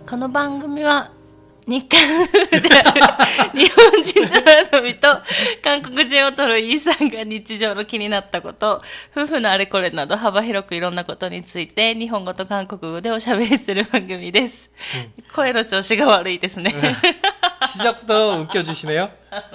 この番組は日韓夫婦である日本人との遊びと韓国人を取るイーさんが日常の気になったこと、夫婦のあれこれなど幅広くいろんなことについて日本語と韓国語でおしゃべりする番組です。声の調子が悪いですね。 시작부터웃겨주시네요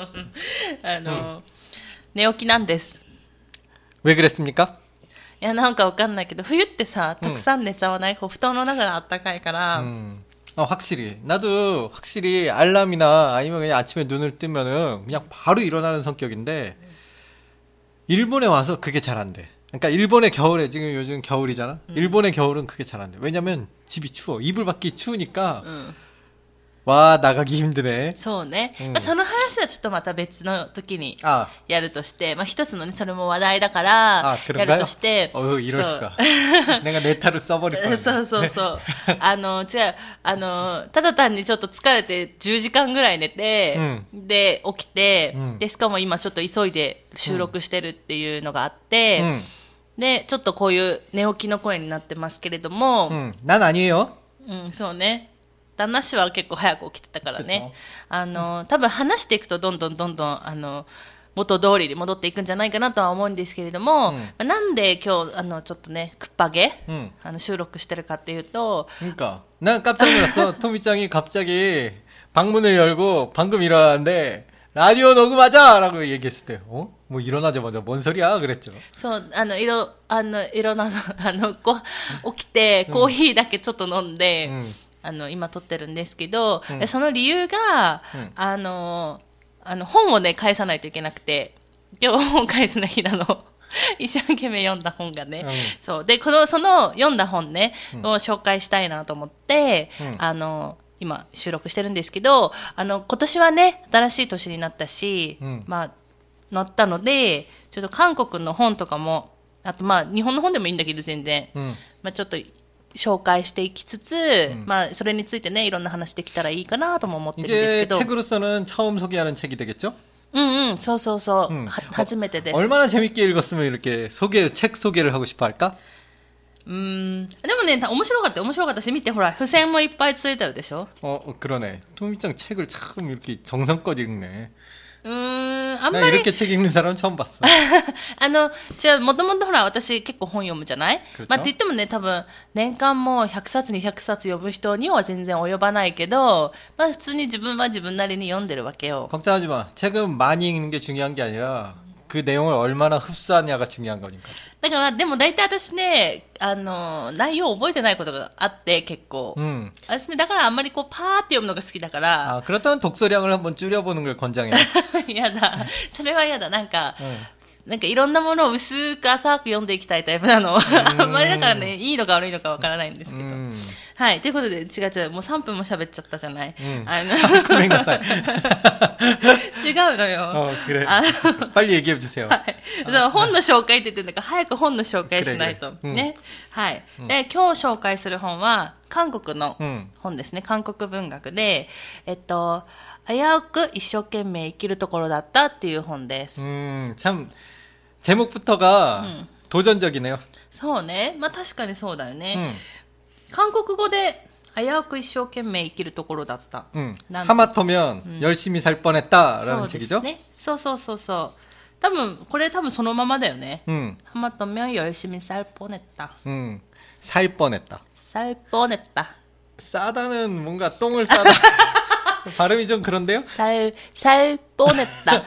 寝起きなんです。 왜 그랬습니까? いや、なんかわかんないけど、冬ってさ、たくさん寝ちゃわない？布団の中があったかいから。 확실히 나도 확실히 알람이나 아니면 그냥 아침에 눈을 뜨면은 그냥 바로 일어나는 성격인데 일본에 와서 그게 잘 안 돼. 그러니까 일본의 겨울에 지금 요즘 겨울이잖아. 일본의 겨울은 그게 잘 안 돼. 왜냐면 집이 추워. 이불 밖이 추우니까 와 나가기 힘드네. そうね。その話はちょっとまた別の時にやるとして、一つのね、それも話題だからやるとして、 이럴 수가. 내가 내 탈을 써버릴 거야. そうそうそう。違う。ただ単にちょっと疲れて10時間ぐらい寝て、で起きて、でしかも今ちょっと急いで収録してるっていうのがあって、でちょっとこういう寝起きの声になってますけれども、 난 아니에요. そうね。旦那氏は結構早く起きてたからね。多分話していくとどんどん元通りに戻っていくんじゃないかなとは思うんですけれども、なんで今日ちょっとね、くっぱげ、収録してるかっていうと、 그러니까 난 깜짝 놀랐어. 토미짱이 갑자기 방문을 열고 방금 일어났는데 라디오 녹음하자라고 얘기했을 때, 뭐 일어나자마자 뭔 소리야 그랬죠. そう、いろんな起きてコーヒーだけちょっと飲んで。今撮ってるんですけど、その理由が、本をね、返さないといけなくて、今日本返すの日なの。一生懸命読んだ本がね。そう。で、その読んだ本ね、を紹介したいなと思って、今収録してるんですけど、今年はね、新しい年になったし、なったので、ちょっと韓国の本とかも、あと日本の本でもいいんだけど全然、ちょっと、紹介していきつつ、それについてね、いろんな話できたらいいかなとも思ってるんですけど。 이게 책으로서는 처음 소개하는 책이 되겠죠? そうそうそう。初めてです。 얼마나 재밌게 읽었으면 이렇게 책 소개를 하고 싶어 할까? でもね、面白かったし、見て、ほら、付箋もいっぱいついてるでしょ? 그러네. 토미짱 책을 참 이렇게 정성껏 읽네. あんまり 이렇게 책 읽는 사람 처음 봤어. じゃあもともとほら私結構本読むじゃない？って言ってもね、多分年間も100冊200冊読む人には全然及ばないけど、普通に自分は自分なりに読んでるわけよ。 걱정하지 마. 책은 많이 읽는 게 중요한 게 아니라 그 내용을 얼마나 흡수하냐가 중요한 거니까. だからでも大体私ね、内容を覚えてないことがあって結構。私ね、だからあんまりこうパーって読むのが好きだから。 그렇다면 독서량을 한번 줄여보는 걸 권장해. やだ。それはやだ。なんかいろんなものを薄く浅く読んでいきたいタイプなの。あんまりだからね、いいのか悪いのかわからないんですけど。はい。ということで、違う、もう3分も喋っちゃったじゃない。 ごめんなさい。 違うのよ。 그래. 빨리 얘기해 주세요. 本の紹介って言ってんだから、早く本の紹介しないと。ね。はい。で、今日紹介する本は、韓国の本ですね。韓国文学で、危うく一生懸命生きるところだったっていう本です。 참 제목부터가 도전적이네요. そうね。確かにそうだよね。韓国語で危うく一生懸命生きるところだった。 하마터면 열심히 살 뻔했다라는 책이죠? そう。これ多分そのままだよね。하마터면 열심히 살 뻔했다. 살 뻔했다. 살 뻔했다. 싸다는 뭔가 똥을 싸다. 발음이 좀 그런데요? 살 뻔했다.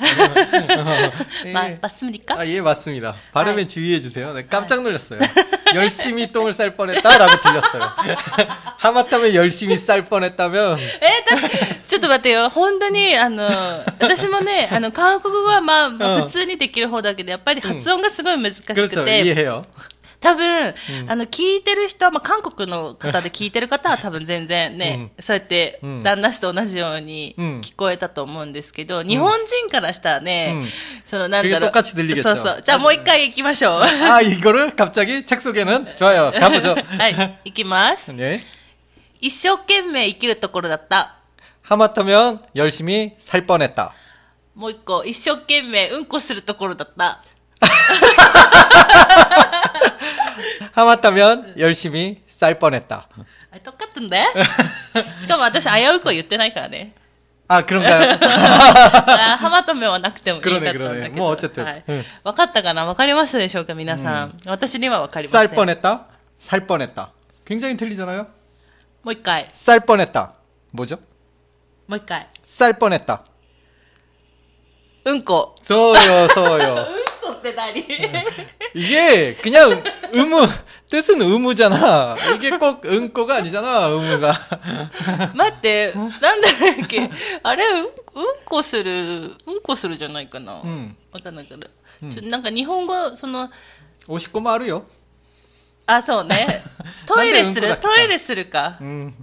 맞습니까? 예, 맞습니다. 발음에 주의해 주세요. 네, 깜짝 놀랐어요. 열심히 똥을 쌀 뻔했다라고 들렸어요. 하마터면 열심히 쌀 뻔했다면. ちょっと待ってよ。本当に私もね、韓国語は普通にできる方だけど、やっぱり発音がすごい難しくて。 그렇죠. 이해해요. 多分、聞いてる人は、韓国の方で聞いてる方は多分全然ね、そうやって旦那氏と同じように聞こえたと思うんですけど、日本人からしたらね、なんだろう。そうそう。じゃあもう一回行きましょう。 이거를 갑자기 책 소개는 좋아요. 가보죠. はい、行きます。一生懸命生きるところだった。 하마터면 열심히 살 뻔했다. もう一個、一生懸命うんこするところだった。 하마터면 열심히 쌀 뻔했다. 똑같은데? しかも私危うくは言ってないからね。 あ、그런가요? ハマとめはなくてもいいかったんだけど。 もう어쨌든。 はい。分かったかな？分かりましたでしょうか皆さん。私には分かりません。 쌀뻔했다。굉장히틀리잖아요。 もう一回。 쌀뻔했다。뭐죠？ もう一回。 쌀뻔했다。 うんこ。 そうよ。 うんこって何？ 이게 그냥 뜻은 의무잖아. 이게 꼭 응꼬가 아니잖아, 의무가. 待って、なんだっけあれ、うんこするじゃないかな。わかんないけど。なんか日本語、 おしっこもあるよ。 あ、そうね。トイレするか。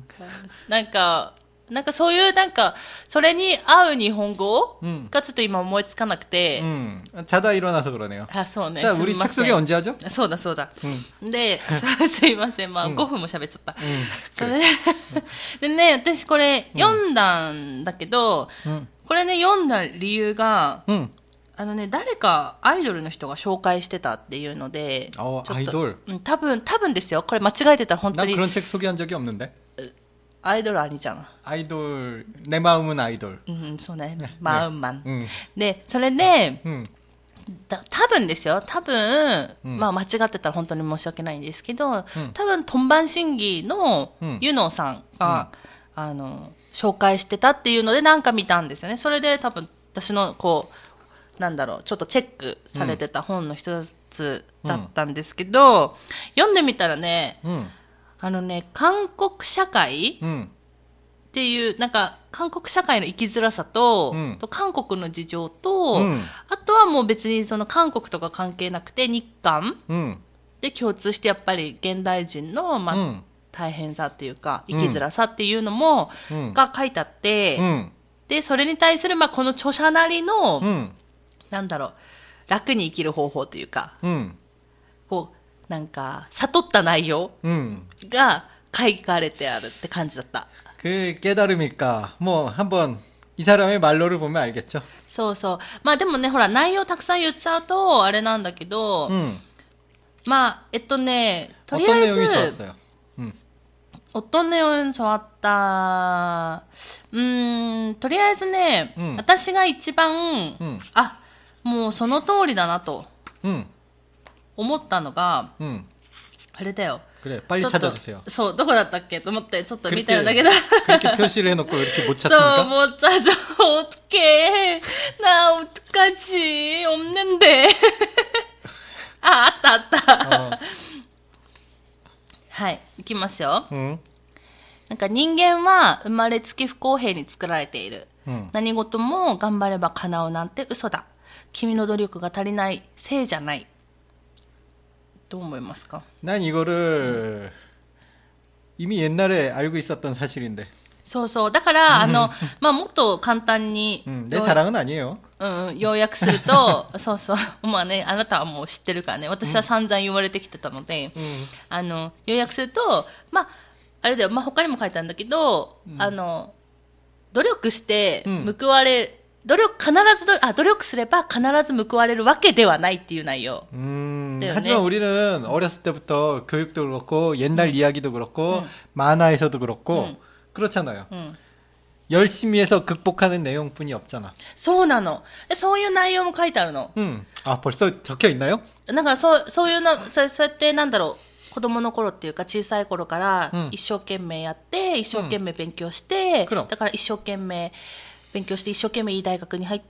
なんかそういうそれに合う日本語がちょっと今思いつかなくて。 자다 일어나서 그러네요. あ、そうね。 じゃあ、우리 착석이 언제 하죠? そうだ。で、すいません。まあ、5分も喋っちゃった。それでね、私これ読んだんだけど、これね、読んだ理由が、誰かアイドルの人が紹介してたっていうので、 アイドル？ 多分ですよ。これ間違えてたら本当に。 난 그런 책 소개한 적이 없는데. アイドルありじゃん。 アイドル、내 마음은アイドル。 そうね。マウンマン。で、それで、多分ですよ。まあ間違ってたら本当に申し訳ないんですけど、多分、トンバン審議のユノさんが、紹介してたっていうのでなんか見たんですよね。それで多分、私のちょっとチェックされてた本の一つだったんですけど、読んでみたらね、韓国社会っていう、韓国社会の生きづらさと、韓国の事情と、あとはもう別に韓国とか関係なくて日韓で共通してやっぱり現代人の、大変さっていうか、生きづらさっていうのも、が書いてあって、で、それに対する、この著者なりの、楽に生きる方法というか、悟った内容が書かれてあるって感じだった。 그 깨달음일까? 뭐 한번 이 사람의 말로를 보면 알겠죠. そう。まあでもね、ほら内容たくさん言っちゃうとあれなんだけど、まあとりあえず 어떤 내용이 좋았어요? 어떤 내용은 좋았다. とりあえずね、私が一番、もうその通りだなと。思ったのが、あれだよ。 빨리 찾아주세요. そう、どこだったっけと思ってちょっと見たんだけど。 그렇게 표시를 해놓고 이렇게 못 찾습니까? そう、못 찾아. 어떡해. 나 어떡하지. 없는데. あった。はい、いきますよ。人間は生まれつき不公平に作られている。何事も頑張れば叶うなんて嘘だ。君の努力が足りないせいじゃない。どう思いますか？ 난 이거를 이미 옛날에 알고 있었던 사실인데. そう。だから、まあ、もっと簡単に。 내 자랑은 아니에요. 要約すると、そう。まあね、あなたはもう知ってるからね。私は散々言われてきてたので、要約すると、まあ、あれだよ、まあ、他にも書いてあるんだけど、努力して報われ、努力すれば必ず報われるわけではないっていう内容。 하지만 우리는 어렸을 때부터 교육도 그렇고 옛날 이야기도 그렇고 만화에서도 그렇고 그렇잖아요. 열심히 해서 극복하는 내용뿐이 없잖아. そうなの。そういう内容も書いてあるの。 아, 벌써 적혀 있나요? なんかそういうの、そうやって子供の頃っていうか小さい頃から一生懸命やって、一生懸命勉強して、だから一生懸命勉強して一生懸命いい大学に入って、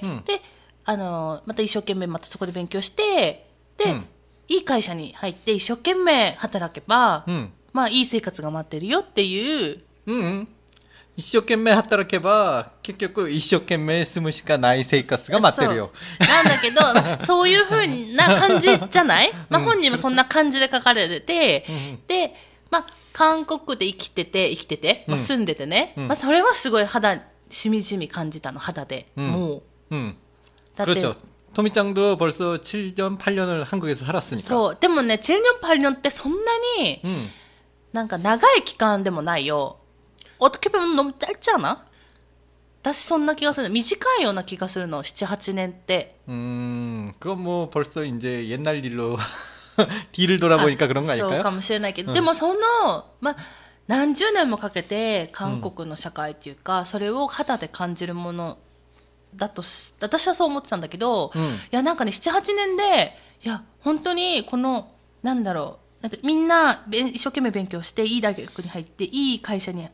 で、また一生懸命またそこで勉強して、で、いい会社に入って一生懸命働けば、まあいい生活が待ってるよっていう。 一生懸命働けば結局一生懸命住むしかない生活が待ってるよ。 なんだけど、そういう風な感じじゃない？まあ本人もそんな感じで書かれてて、で、まあ韓国で生きてて、まあ、住んでてね、まあそれはすごいしみじみ感じたの、肌で。もう。 だって。그렇죠。토미짱도 벌써 7년, 8년을 한국에서 살았으니까. そう。でもね、7년, 8년ってそんなに、なんか長い期間でもないよ。어떻게 보면 너무 짧지 않아? 私そんな気がする。短いような気がするの。7、8年って。 그건 뭐 벌써 이제 옛날 일로 뒤를 돌아보니까 그런 거 아닐까요? そうかもしれないけど、でもまあ何十年もかけて韓国の社会っていうか、それを肌で感じるものだと私はそう思ってたんだけど、いやなんかね 7,8 年でいや本当にこのなんだろう、なんかみんな一生懸命勉強していい大学に入っていい会社に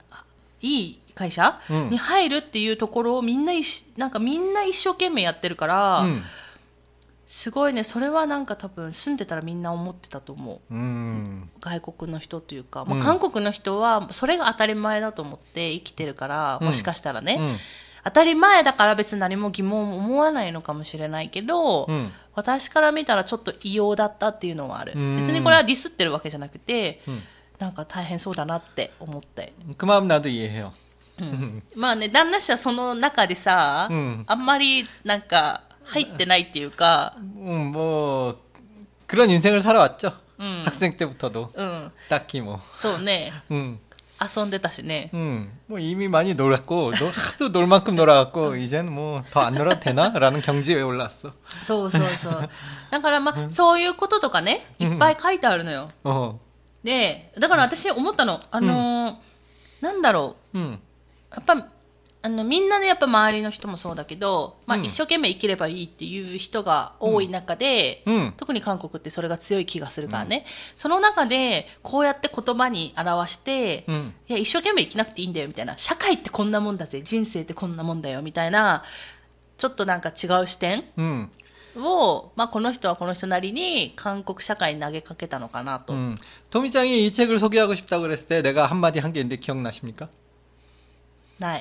入るっていうところをなんかみんな一生懸命やってるから、すごいね。それはなんか多分住んでたらみんな思ってたと思う、外国の人というか、韓国の人はそれが当たり前だと思って生きてるから、もしかしたらね、当たり前だから別に何も疑問を思わないのかもしれないけど、私から見たらちょっと異様だったっていうのはある。別にこれはディスってるわけじゃなくて、なんか大変そうだなって思って。 그 마음 나도 이해해요. まあね、旦那氏はその中でさ、あんまりなんか入ってないっていうか、 뭐 그런 인생을 살아왔죠. 학생 때부터도. 딱히 뭐. そうね。遊んでたしね。 뭐 이미 많이 놀았고, 하도 놀 만큼 놀아갖고 이제는 뭐 더 안 놀아도 되나라는 경지에 올랐어. そうそうそう。だからまあそういうこととかね、いっぱい書いてあるのよ。で、だから私思ったの、なんだろう。やっぱみんなね、やっぱ周りの人もそうだけど、まあ、一生懸命生きればいいっていう人が多い中で、特に韓国ってそれが強い気がするからね、その中でこうやって言葉に表して、いや一生懸命生きなくていいんだよみたいな、社会ってこんなもんだぜ、人生ってこんなもんだよみたいな、ちょっとなんか違う視点を、まあ、この人はこの人なりに韓国社会に投げかけたのかなと。 토미짱이 이 책을 소개하고 싶다고 그랬을 때 내가 한마디 한 게 있는데 기억나십니까? ない。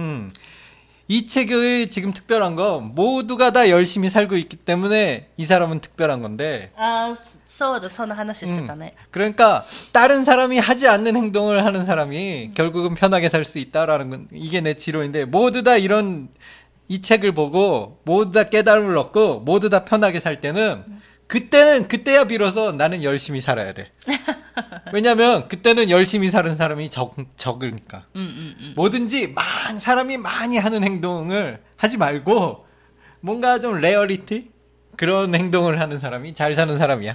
이 책의 지금 특별한 거 모두가 다 열심히 살고 있기 때문에 이 사람은 특별한 건데. 아, そうだ、そんな話してたね. 그러니까 다른 사람이 하지 않는 행동을 하는 사람이 결국은 편하게 살 수 있다라는 건 이게 내 지론인데, 모두 다 이런 이 책을 보고 모두 다 깨달음을 얻고 모두 다 편하게 살 때는 그때야 비로소 나는 열심히 살아야 돼. 왜냐면 그때는 열심히 사는 사람이 적으니까. 뭐든지 사람이 많이 하는 행동을 하지 말고 뭔가 좀 레어리티? 그런 행동을 하는 사람이 잘 사는 사람이야.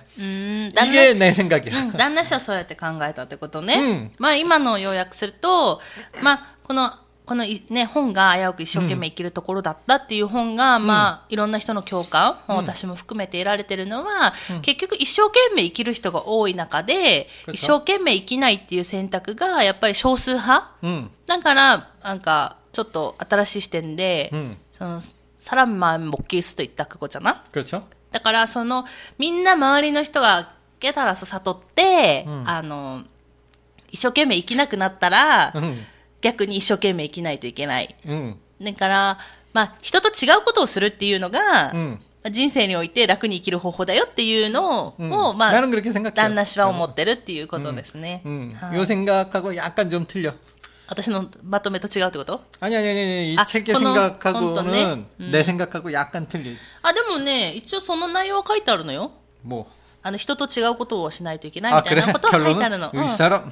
이게 내 생각이야. 旦那氏はそうやって考えたってことね。まあ今の要約すると、まあこのね、本が危うく一生懸命生きるところだったっていう本が、まあいろんな人の共感、私も含めて得られてるのは、結局一生懸命生きる人が多い中で、一生懸命生きないっていう選択がやっぱり少数派、だからなんかちょっと新しい視点で、その사람만 먹기 수도 있다 그거잖아. 그렇죠. だからそのみんな周りの人が깨달아서悟って、一生懸命生きなくなったら、逆に一生懸命生きないといけない。だから、まあ、人と違うことをするっていうのが、人生において楽に生きる方法だよっていうのを、まあ、旦那氏は思ってるっていうことですね。 요 생각하고 약간 좀 틀려. 私のまとめと違うってこと? 아니, 이 책의 생각하고는 내 생각하고 약간 틀려. あ、でもね、一応その内容は書いてあるのよ。 뭐? 人と違うことをしないといけないみたいなことは書いてあるの。 이 사람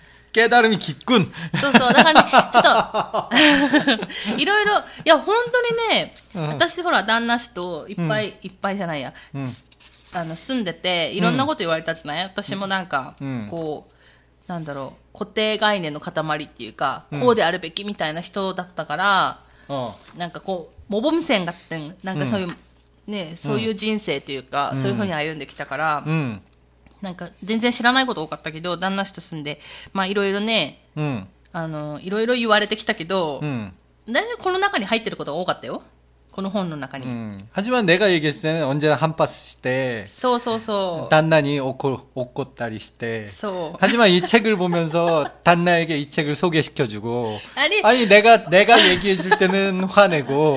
깨달음이 깊군. そうそう。だからね、ちょっと、いろいろ、いや、本当にね、私ほら、旦那氏といっぱいじゃないや、住んでて、いろんなこと言われたじゃない？私もなんか、こう、なんだろう、固定概念の塊っていうか、こうであるべきみたいな人だったから、なんかこう、モボム線がって、なんかそういう、ね、そういう人生というか、そういうふうに歩んできたから、なんか全然知らないこと多かったけど、旦那氏と住んで、まあいろいろね、いろいろ言われてきたけど、大体この中に入ってることが多かったよ。この本の中に。 하지만 내가 얘기했을 때는 언제나 한파스 시대. そうそうそう。 단나니 옷꽃다리 시대. そう。 하지만 이 책을 보면서 단나에게 이 책을 소개시켜주고. 아니 내가 얘기해줄 때는 화내고.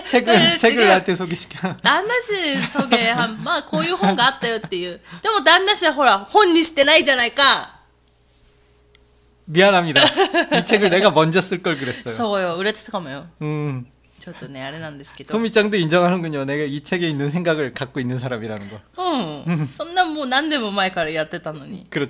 책을 나한테 소개시켜. 旦那氏소개まあこういう本があったよっていう。でも旦那氏はほら本にしてないじゃないか。 미안합니다. 이 책을 내가 먼저 쓸 걸 그랬어요. そうよ、売れてたかもよ。ちょっとね、あれなんですけど。 토미짱도 인정하는군요. 내가 이 책에 있는 생각을 갖고 있는 사람이라는 거. そんなもう何年も前からやってたのに。 그렇죠.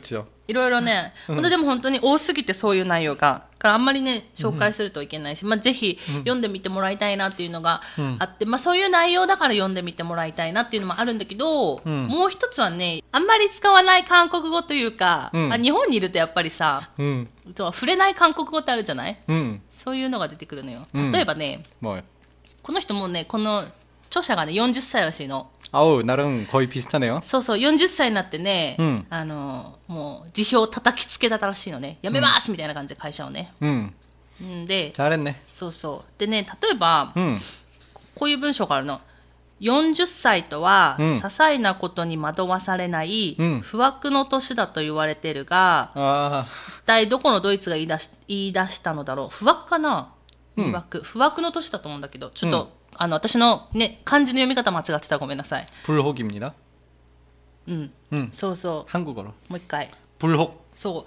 いろいろね、本当でも本当に多すぎてそういう内容が。からあんまりね、紹介するといけないし、まあぜひ読んでみてもらいたいなっていうのがあって、まあそういう内容だから読んでみてもらいたいなっていうのもあるんだけど、もう一つはね、あんまり使わない韓国語というか、まあ、日本にいるとやっぱりさ、触れない韓国語ってあるじゃない、そういうのが出てくるのよ。例えばね、この人もね、この著者がね、40歳らしいの。 나랑 거의 비슷하네요. そうそう、40歳になってね、もう辞表を叩きつけたらしいのね。やめますみたいな感じで会社をね。で、 잘했네. そうそう。でね、例えば、こういう文章があるの。40歳とは、些細なことに惑わされない、不惑の年だと言われてるが、一体どこのドイツが言い出したのだろう。不惑かな、不惑の年だと思うんだけど、ちょっと、私のね、漢字の読み方間違ってたらごめんなさい。 불혹입니다. そうそう。 한국어로. もう一回。 불혹. そう。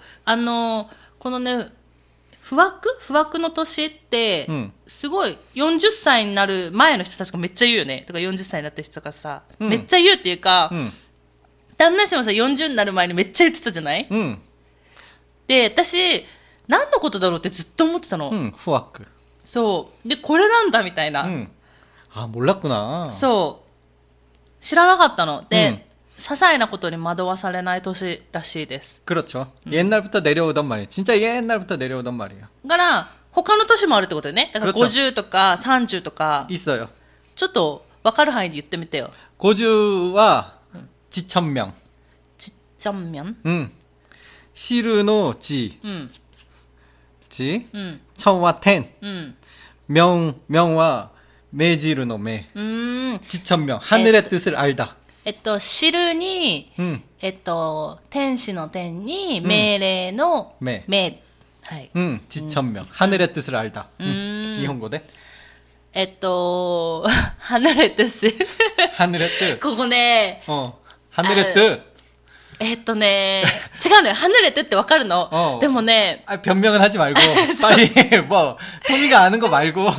このね、不惑の年って、すごい、40歳になる前の人たちがめっちゃ言うよね。とか40歳になった人がさ、めっちゃ言うっていうか、旦那氏もさ、40になる前にめっちゃ言ってたじゃない、で、私、何のことだろうってずっと思ってたの。 不惑. そう。で、これなんだみたいな。 몰랐구나. そう。知らなかったの。で、些細なことに惑わされない年らしいです。 그렇죠. 옛날부터 내려오던 말이에요. 진짜 옛날부터 내려오던 말이에요. だから、他の年もあるってことよね。だから50とか30とか。 있어요. ちょっと分かる範囲で言ってみてよ。 50와 지천명. 지천명? 시르노 지. 지. 천와 텐. 명와 매지르노 매. 지천명. 하늘의 뜻을 알다. 知るに、天使の天に、命令の命。はい。 지천명. 하늘의 뜻을 알다. 일본어で 하늘의 뜻. 하늘의 뜻. ここね。 하늘의 뜻. 違うのよ。하늘의 뜻ってわかるの。でもね。 변명은 하지 말고, 빨리, 토미가 아는 거 말고. 違う。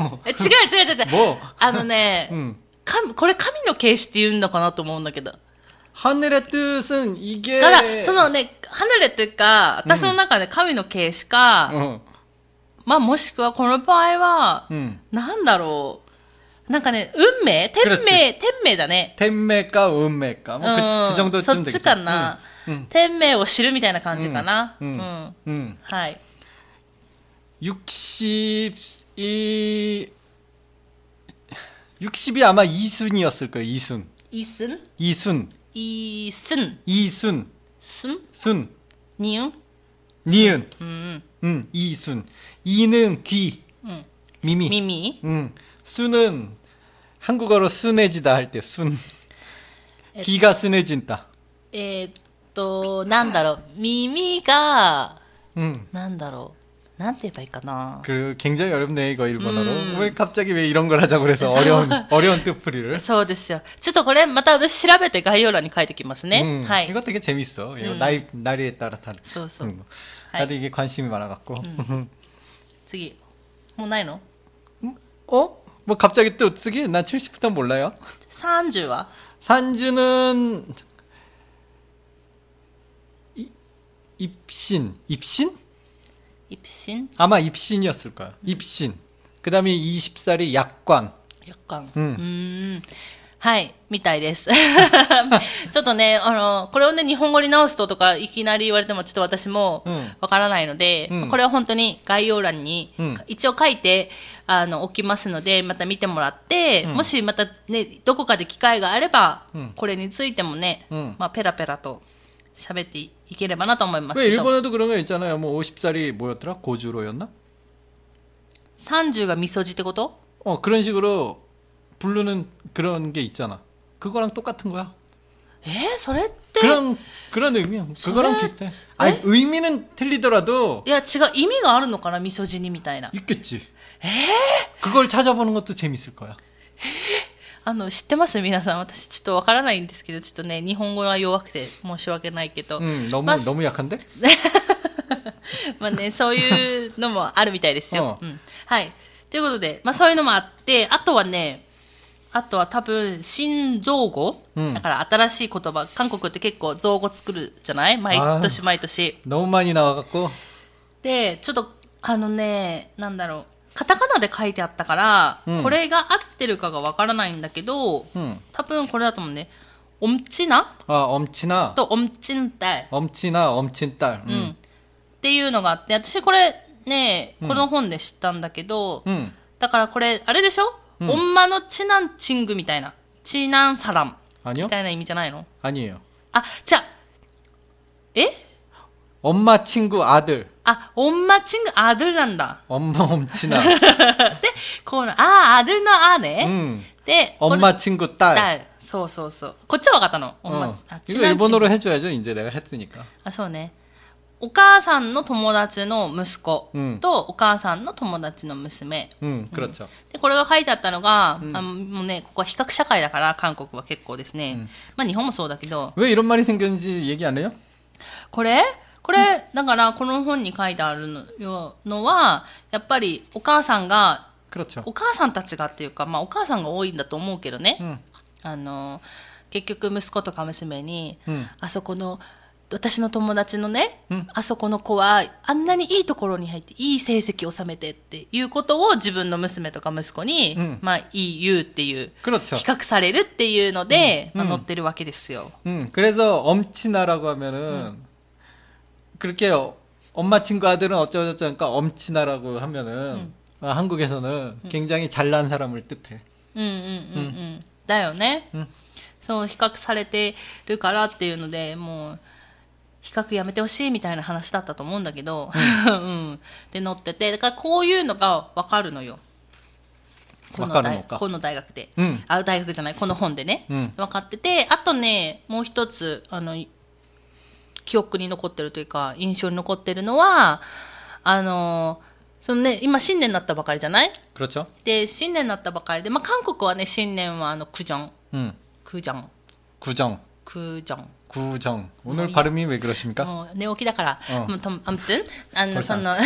これ神の形詞って言うんだかなと思うんだけど。 하늘의 뜻은 이게. だから、そのね、하늘의 뜻か、私の中で神の形詞か、まあもしくはこの場合は、なんだろう。なんかね、運命天命だね。 天命か運命か。그 정도 そっちかな。天命を知るみたいな感じかな。はい。 60이 아마 이순이었을 거예요. 이순. 이순? 이순. 이순. 이순. 순? 니은? 이순. 이는 귀. 미미. 순은 한국어로 순해지다 할 때 순. 귀가 순해진다. なんだろう。耳が、なんだろう。なんて言えばいいかな。 굉장히 어렵네 이거 일본어로. 왜 갑자기 왜 이런 걸 하자고 그래서 어려운 뜻풀이를. そうですよ。ちょっとこれまた私調べて概要欄に書いておきますね。はい。 이거 되게 재밌어. 이거 나이에 따라 다른. そうそう。 나도 이게 관심이 많아갖고. 次。もうないの？ 뭐 갑자기 또 쓰기? 난 70부터 몰라요. 30は? 산주는 입신? 입신? 아마 입신이었을 거야. 입신. 그 다음에 20살이 약관. はい、みたいです。ちょっとね、これをね、日本語に直すととか、いきなり言われてもちょっと私もわからないので、これは本当に概要欄に一応書いて、おきますので、また見てもらって、もしまたね、どこかで機会があれば、これについてもね、まあ、ペラペラと喋っていければなと思いますけど。 일본에도 그런 거 있잖아요. 뭐 50살이 뭐였더라? 고주로였나? 30がみそじってこと? 그런 식으로 부르는 그런 게 있잖아. 그거랑 똑같은 거야. それって 그런 의미야. 그거랑 비슷해. 아니, 의미는 틀리더라도. いや違う意味があるのかなみそじにみたいな. 있겠지. 그걸 찾아보는 것도 재밌을 거야. 知ってます皆さん。私ちょっとわからないんですけど、ちょっとね、日本語は弱くて申し訳ないけど。 너무 약한데? まあね、そういうのもあるみたいですよ。はい。ということで、まあそういうのもあって、あとはね、 あとは多分、新造語、だから新しい言葉、韓国って結構造語作るじゃない毎年毎年。 너무 많이 나와갖고。 で、ちょっと、なんだろう。カタカナで書いてあったから、これが合ってるかがわからないんだけど、多分これだと思うね。엄친아? 엄친아. 또 엄친딸. 엄친아, 엄친딸. っていうのがあって、私これね、この本で知ったんだけど、だからこれ、あれでしょ엄마의 친한 친구みたいな。친한 사람。みたいな意味じゃないの？ 아니에요. 아, 자, 엄마 친구 아들. 아, 엄마 친구 아들 난다. 엄마 엄친아. で、아들의 아네. で、 엄마 친구 딸. 딸. そうそうそう。こっちは分かったの。 이거 일본어로 해줘야죠. 이제 내가 했으니까. あ、そうね。お母さんの友達の息子とお母さんの友達の娘。 그렇죠. で、これが書いてあったのが、もうね、ここは比較社会だから、韓国は結構ですね。まあ日本もそうだけど。 왜 이런 말이 생겼는지 얘기 안 해요? これ、だから、この本に書いてあるのは、やっぱりお母さんが、 그렇죠. お母さんたちがっていうか、まあお母さんが多いんだと思うけどね。結局息子とか娘に、あそこの、私の友達のね、あそこの子はあんなにいいところに入っていい成績を収めてっていうことを自分の娘とか息子に、まあ言うっていう、比較されるっていうので、まあ、載ってるわけですよ。 그래서 엄친아라고 하면은 그렇게 엄마 친구 아들은 어쩌고저쩌고 그러니까 엄친아라고 하면은 한국에서는 굉장히 잘난 사람을 뜻해. だよね。そう比較されてるからっていうのでもう。比較やめてほしいみたいな話だったと思うんだけど、で載ってて、だからこういうのが分かるのよ。この大学で、大学じゃないこの本でね、分かってて、あとねもう一つ記憶に残ってるというか印象に残ってるのはそのね今新年になったばかりじゃない？で新年になったばかりで、まあ韓国はね新年は구정。 구정. 오늘 발음이 왜 그러십니까? 寝起きだから。아무튼その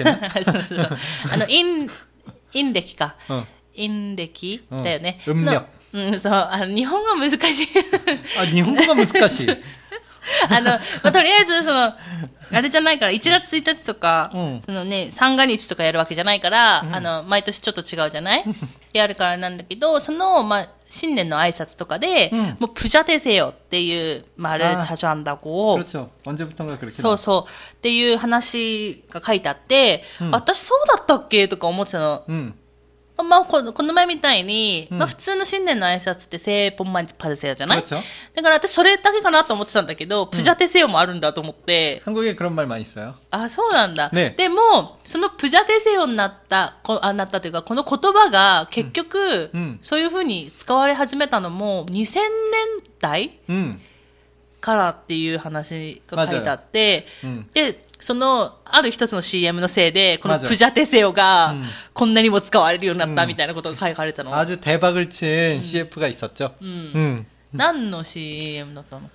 陰暦か。陰暦だよね。 음력。 そう日本語難しい。 日本語が難しい。 とりあえずあれじゃないから1月1日とか、そのね三が日とかやるわけじゃないから、毎年ちょっと違うじゃない？やるからなんだけど、まあ新年の挨拶とかで、もう부자 되세요っていう말을 자주 한다고。 그렇죠. 언제부턴가 그렇게. そうそうっていう話が書いてあって、私そうだったっけとか思ってたの。まあこの前みたいに、まあ普通の新年の挨拶って새해복 많이 받으세요じゃない？ だから私それだけかなと思ってたんだけど、부자 되세요もあるんだと思って。 한국에 그런 말 많이 써요. あ、そうなんだ。でもその부자 되세요になったというかこの言葉が結局、そういう風に使われ始めたのも2000年代、からっていう話が書いてあって、である一つの CM のせいで、このプジャテセオが、こんなにも使われるようになったみたいなことが書かれたの。 아주 대박을 친 CF가 있었죠. 何の CM だったの？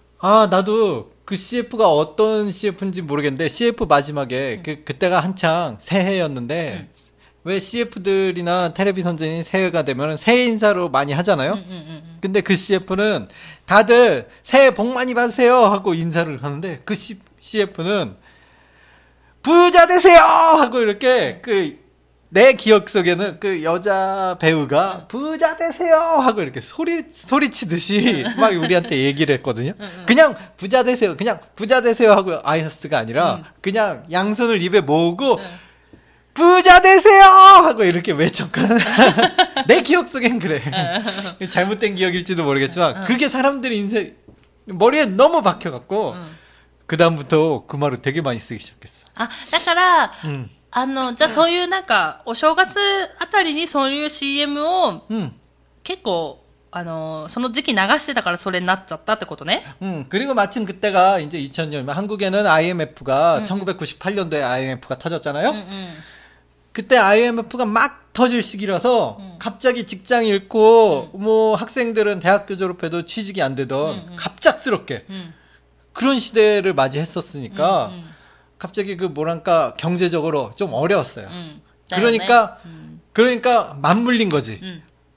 나도 그 CF가 어떤 CF인지 모르겠는데, CF 마지막에, 그때가 한창 새해였는데, 왜 CF들이나 텔레비 선전이 새해가 되면 새해 인사로 많이 하잖아요? 근데 그 CF는 다들 새해 복 많이 받으세요! 하고 인사를 하는데, 그 CF는 부자 되세요! 하고 이렇게 내 기억 속에는 그 여자 배우가 부자 되세요! 하고 이렇게 소리치듯이 막 우리한테 얘기를 했거든요. 그냥 부자 되세요! 그냥 부자 되세요! 하고 아이스가 아니라 그냥 양손을 입에 모으고 부자 되세요! 하고 이렇게 외쳤거든. 내 기억 속엔 그래. 잘못된 기억일지도 모르겠지만 그게 사람들이 인생 머리에 너무 박혀갖고 그 다음부터 그 말을 되게 많이 쓰기 시작했어. だから、じゃあそういうなんかお正月あたりにそういう CM を、結構その時期流してたからそれになっちゃったってことね。 그리고 마침 그때가 이제 2000년 한국에는 IMF가 1998년도에 IMF가 터졌잖아요. 그때 IMF가 막 터질 시기라서 갑자기 직장 잃고 뭐 학생들은 대학교 졸업해도 취직이 안 되던 갑작스럽게 그런 시대를 맞이했었으니까 갑자기 그 뭐랄까 경제적으로 좀 어려웠어요. 그러니까 맞물린 거지.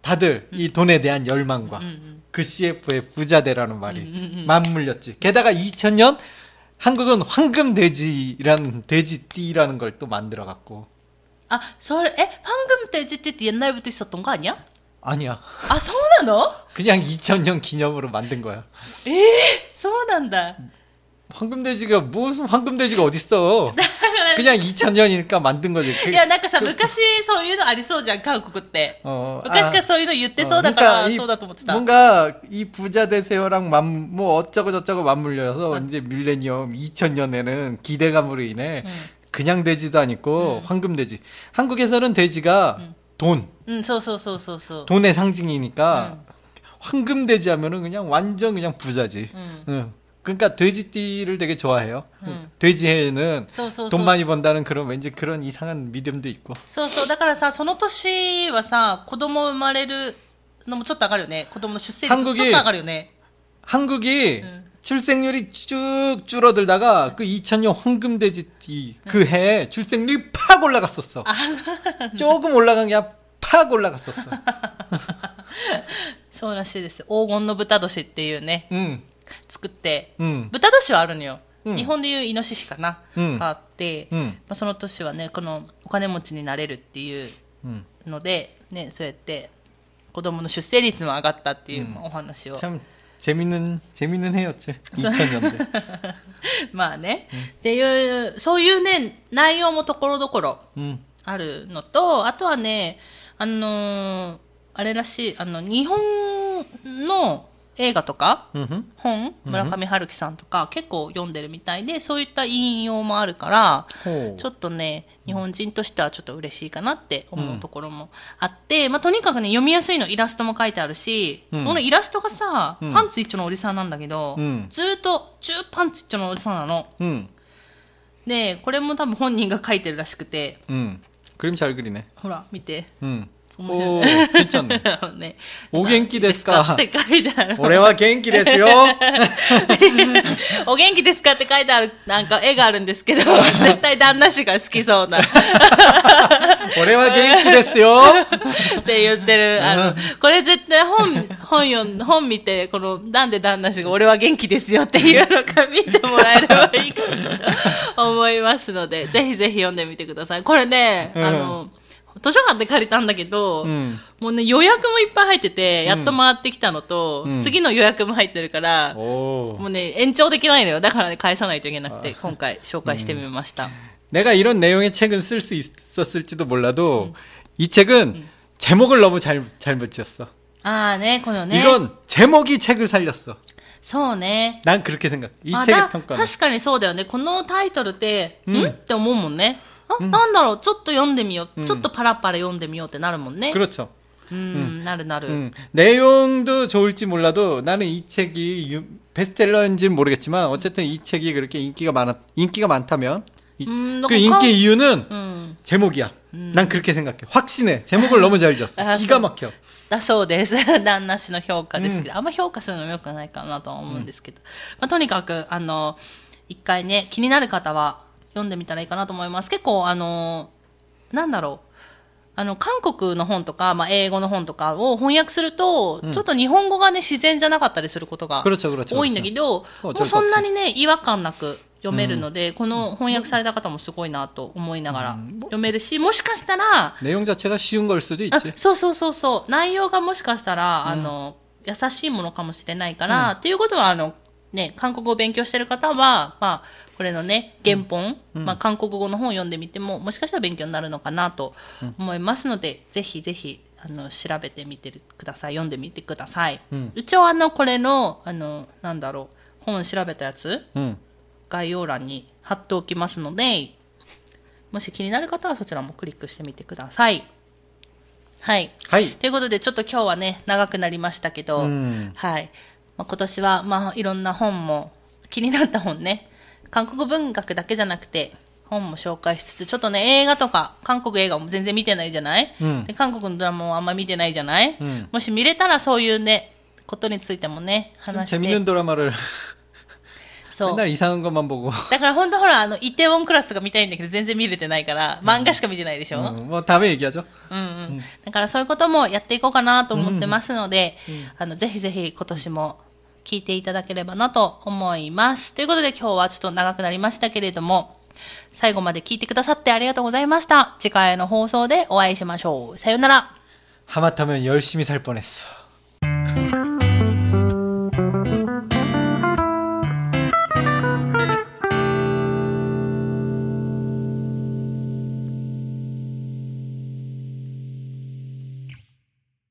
다들 이 돈에 대한 열망과 그 CF의 부자되라는 말이 맞물렸지. 게다가 2000년 한국은 황금돼지라는 돼지띠라는 걸 또 만들어갖고. 아, それ, 황금돼지띠 옛날부터 있었던 거 아니야? 아니야. 아, そうなの? 그냥 2000년 기념으로 만든 거야. そうなんだ. 황금돼지가 무슨 황금돼지가 어딨어. 그냥 2000년이니까 만든 거지. いや、なんかさ、昔そういうのありそうじゃん、韓国って。昔からそういうの言ってそうだから、そうだと思ってた。 뭔가 이 부자 되세요랑 뭐 어쩌고 저쩌고 맞물려서 이제 밀레니엄 2000년에는 기대감으로 인해 그냥 돼지도 아니고 황금돼지. 한국에서는 돼지가 돈. そうそうそうそうそう。 돈의 상징이니까 황금돼지 하면은 그냥 완전 그냥 부자지. 그러니까 돼지띠를 되게 좋아해요. 돼지해에는 돈 많이 번다는 그런 왠지 그런 이상한 믿음도 있고. そうそう。だからさ、その年はさ、子供生まれるのもちょっと上がるよね。子供の出生率もちょっと上がるよね。 한국이 출생률이 쭉 줄어들다가 그 2000년 황금돼지띠 그 해에 출생률이 팍 올라갔었어. 조금 올라간 게 팍 올라갔었어. そうらしいです。黄金の豚年っていうね。作って、豚年はあるのよ。日本でいうイノシシかな、があって、まあ、その年はね、このお金持ちになれるっていうので、ね、そうやって子供の出生率も上がったっていうお話を。 참 재밌는 해였지. 2000년대. まあね、っていう、そういうね、内容もところどころあるのと、あとはね、あれらしい、日本の映画とか、本、村上春樹さんとか結構読んでるみたいで、そういった引用もあるから、ちょっとね、日本人としてはちょっと嬉しいかなって思うところもあって、まあとにかくね、読みやすいの、イラストも書いてあるし、このイラストがさ、パンツ一丁のおじさんなんだけど、ずーっと中パンツ一丁のおじさんなの。で、これも多分本人が書いてるらしくて、 그림 잘 그리네. ほら、見て。 오, 괜찮네. ね、 お元気ですかって書いてある。 俺は元気ですよ。 お元気ですかって書いてある、なんか絵があるんですけど、絶対旦那氏が好きそうな。 俺は元気ですよ。 って言ってる。これ絶対本見て、この、なんで旦那氏が俺は元気ですよっていうのか見てもらえればいいかなと思いますので、ぜひぜひ読んでみてください。これね、図書館で借りたんだけど、もうね、予約もいっぱい入ってて、やっと回ってきたのと、次の予約も入ってるから、もうね、延長できないのよ。だからね、返さないといけなくて、今回紹介してみました。 내가 이런 내용의 책은 쓸 수 있었을지도 몰라도, 이 책은 제목을 너무 잘못 지었어. 아, 네, 그거네. 이건 제목이 책을 살렸어. そうね。 난 그렇게 생각해. 이 책의 평가는. 確かにそうだよね。このタイトルって、って思うもんね。なんだろう、ちょっと読んでみよう、ちょっとパラパラ読んでみようってなるもんね。 그렇죠. なる。 내용도 좋을지 몰라도 나는 이 책이 베스트셀러인지는 모르겠지만 어쨌든 이 책이 그렇게 인기가 많다면 그 인기 이유는 제목이야. 난 그렇게 생각해. 확신해. 제목을 너무 잘 지었어. 기가 막혀. だそうです。旦那氏の評価ですけど、あんま評価するのも良くないかなとは思うんですけど、まあ、とにかく一回ね、気になる方は読んでみたらいいかなと思います。結構なんだろう、韓国の本とか、まあ、英語の本とかを翻訳すると、ちょっと日本語がね、自然じゃなかったりすることが多いんだけど、もうそんなにね、違和感なく読めるので、この翻訳された方もすごいなと思いながら読めるし、もしかしたら、 내용 자체가 쉬운 걸 수도 있지. そう。内容がもしかしたら、優しいものかもしれないから、っていうことは、ね、韓国語を勉強してる方は、まあ、これのね、原本、まあ、韓国語の本を読んでみても、もしかしたら勉強になるのかなと思いますので、ぜひぜひ、調べてみてください。読んでみてください。一応、これの、なんだろう、本調べたやつ、概要欄に貼っておきますので、もし気になる方はそちらもクリックしてみてください。はい。ということで、ちょっと今日はね、長くなりましたけど、はい。まあ、今年は、まあ、いろんな本も、気になった本ね、韓国文学だけじゃなくて、本も紹介しつつ、ちょっとね、映画とか、韓国映画も全然見てないじゃない、で韓国のドラマもあんま見てないじゃない、もし見れたらそういうね、ことについてもね、話して。 재밌는ドラマ를 そう。 맨날 이상한 것만 보고. だから本当ほら、イテウォンクラスとか見たいんだけど、全然見れてないから、漫画しか見てないでしょ。 뭐 다음에 얘기하죠. だからそういうこともやっていこうかなと思ってますので、ぜひぜひ今年も聞いていただければなと思います。ということで今日はちょっと長くなりましたけれども、最後まで聞いてくださってありがとうございました。次回の放送でお会いしましょう。さよなら。 하마터면 열심히 살 뻔했어.